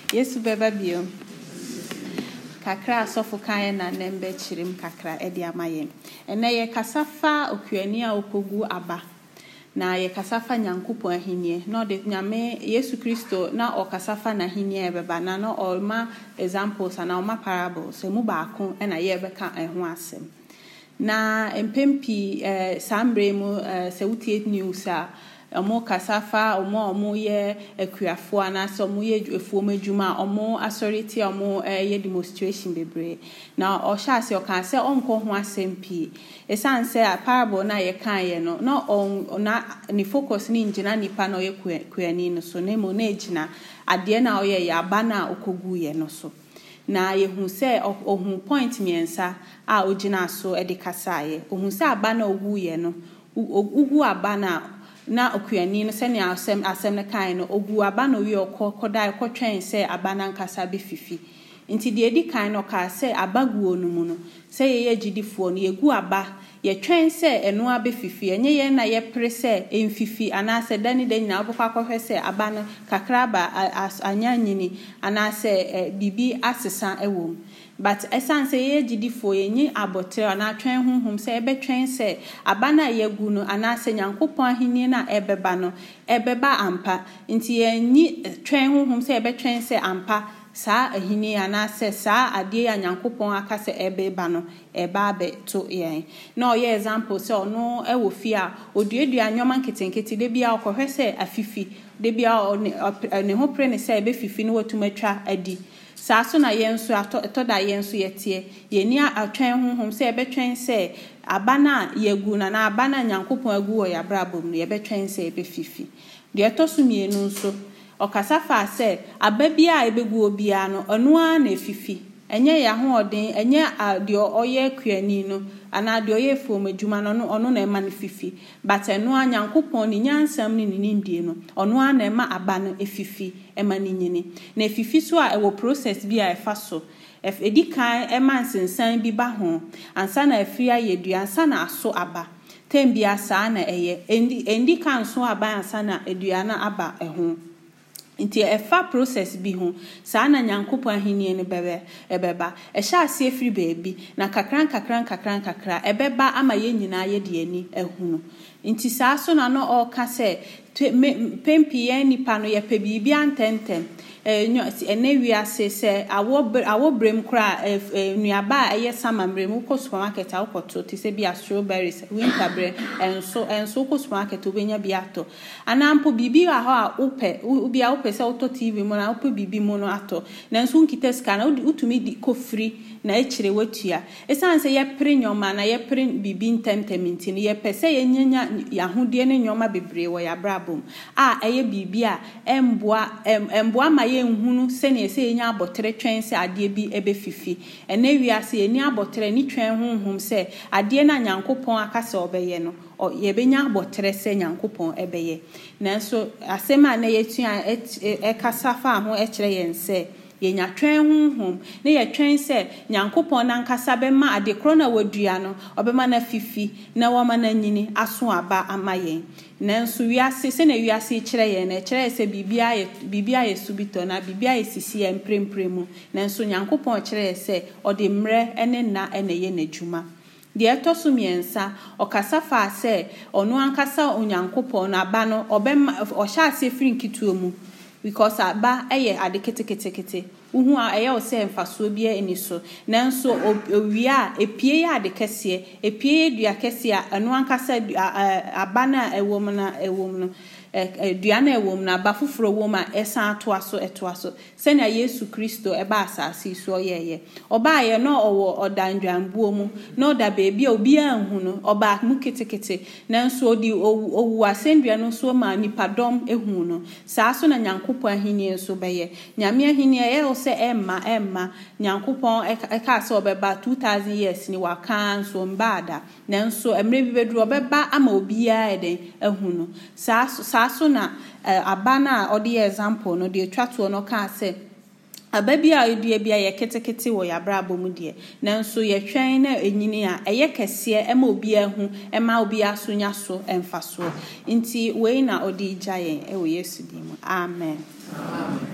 Yesu beba bio. Kakra asofo kan na nembe chirim kakra edi amaye. Ene ye kasafa okuani a okogu aba. Na ye kasafa Nyankopon ahinie. No de nyame Yesu Kristo na o kasafa na ahinie ebeba na no olma examples na olma parables. Emu baako na ye beka ho asem. Na empempi sambre mu se wutie news a omo kasafa omo ye akuafo ana so omo ye efuo madwuma omo authority omo ye demonstration bebre na o sha se o kan se onko ho asempi esan se a parable na ye kan ye no na ni focus ni ngina nipa na ye kuani no so na mo na egina ade na o ye ya aba na okogu ye no so na yehu se ohun point miensa a ogina so e de kasaye ohun se aba na ogu ye no ugu aba na okuani no se ne asem ne kan no ogu aba no wi okoda ekotwen se aba na nkasa be fifi nti de edi kan no ka se abaguo no mu no se ye gidifo no yegu aba ye twen se eno abe fifi enye ye na ye pre se emfifi ana se dani de nyina obokwa kohwe se aba no kakra ba anyanyini ana se bibi asesa ewom but essence ye gidifo ye nyi abotre ana twen honhom se ebe twen se aba na yegu no ana se Nyankopon ahini na ebeba no ebeba ampa nti ye nyi twen honhom se ebe twen se ampa sa ahini ana se sa ade ya Nyankopon aka se ebeba no eba be to yen no ye example se ono ewo fi a oduedua nyoma nketenkete de bia okohwe se afifi de bia ne ho pre ne se ebe fifi no watumatwa adi sa so na yenso atoda yenso yetie yeni atwen honhom se ebe twen se abana yegu na abana Nyankopon agu wo ya brabom no ebe twen se ebe fifi de to so mienu nso okasafa se ababia ebegu obia no ono na fifi enye ya ho odin enye de oye kuani no ana de oye fuom adwuma no ono na ema no fifi but eno Nyankopon ni nyansam ni nindie no ono na ema aba no efifi ema ni nyini na efifi so a ewo process bi a efa so edi kan ema nsensan bi ba ho ansa na afia yedua ansa na aso aba tembia sa na eye endi kan so aba ansa na edua na aba eho nti efa process bi ho sa na Nyankopon ahini ne ebeba ehya ase efiri baabi na kakran ebeba ama ye nyina ye de ani ehunu nti sa so na no o ka se pempi ye nipa no ye pe bibi antentem ene wiase se awo brem kra nuaba eye samambrem ko supermarket akoto ti se bia strawberries winter bre enso ko supermarket obenya biato anampo bibi ha a ubia ope se auto tv mo na ope bibi mo no ato na enso nkita ska na utumi di kofri na echire watua esan se ye pre nyoma na ye pre bibi ntenteminti ne ye pese ye nyanya yahode ne nyoma bebre wo ya brabom a eye bibi a emboa ma ye nhunu se ne se nya abotre twen se ade bi ebe fifi ene wiase eni abotre ni twen honhom se ade na Nyankopon aka se obeye no ye benya abotre se Nyankopon ebeye nanso asema na yetua kasafa ho ekire yen se ye nya twen honhom na ye twen se Nyankopon na nkasa be ma ade kro na wadua no obema na fifi na woma na nyini aso aba amayen nanso wiase se na wiase kire ye na kire se bibia ye subito na bibia ye sisi ye mprempremu nanso Nyankopon kire se ode mre ene na ene ye n'adwuma de etoso miensa okasafa se ono ankasa Onyankopon na aba no obema ohya ase firi nkituo mu because aba eye ade ketekete uhu a eye o se mfaso bia eniso nanso owia epie ya ade kese epie dua kese a eno ankasa aba na ewom no dua na ewom na aba foforo wom a esan etoaso se na Yesu Kristo eba asase so yeye oba ye no owo odandwambuo mu no da bebi obi anhu no oba mu ketekete nanso odi owu asendua no so ma nipadom ehu no saa so na Nyankopon ahini so beye nyame ahini ye o se emma Nyankopon eka se obeba 2000 years ni waka so mbada nanso emre bi bedru obeba ama obi a eden ehu no saa so na abana odi example no de twato no ka se ababi a edua bia ye ketekete wo ya brabo mu de nanso ye twen na enyini a eye kese ema obi ahu ema obi asonya so emfa so nti we na odi gyayen e wo Yesu di mu amen.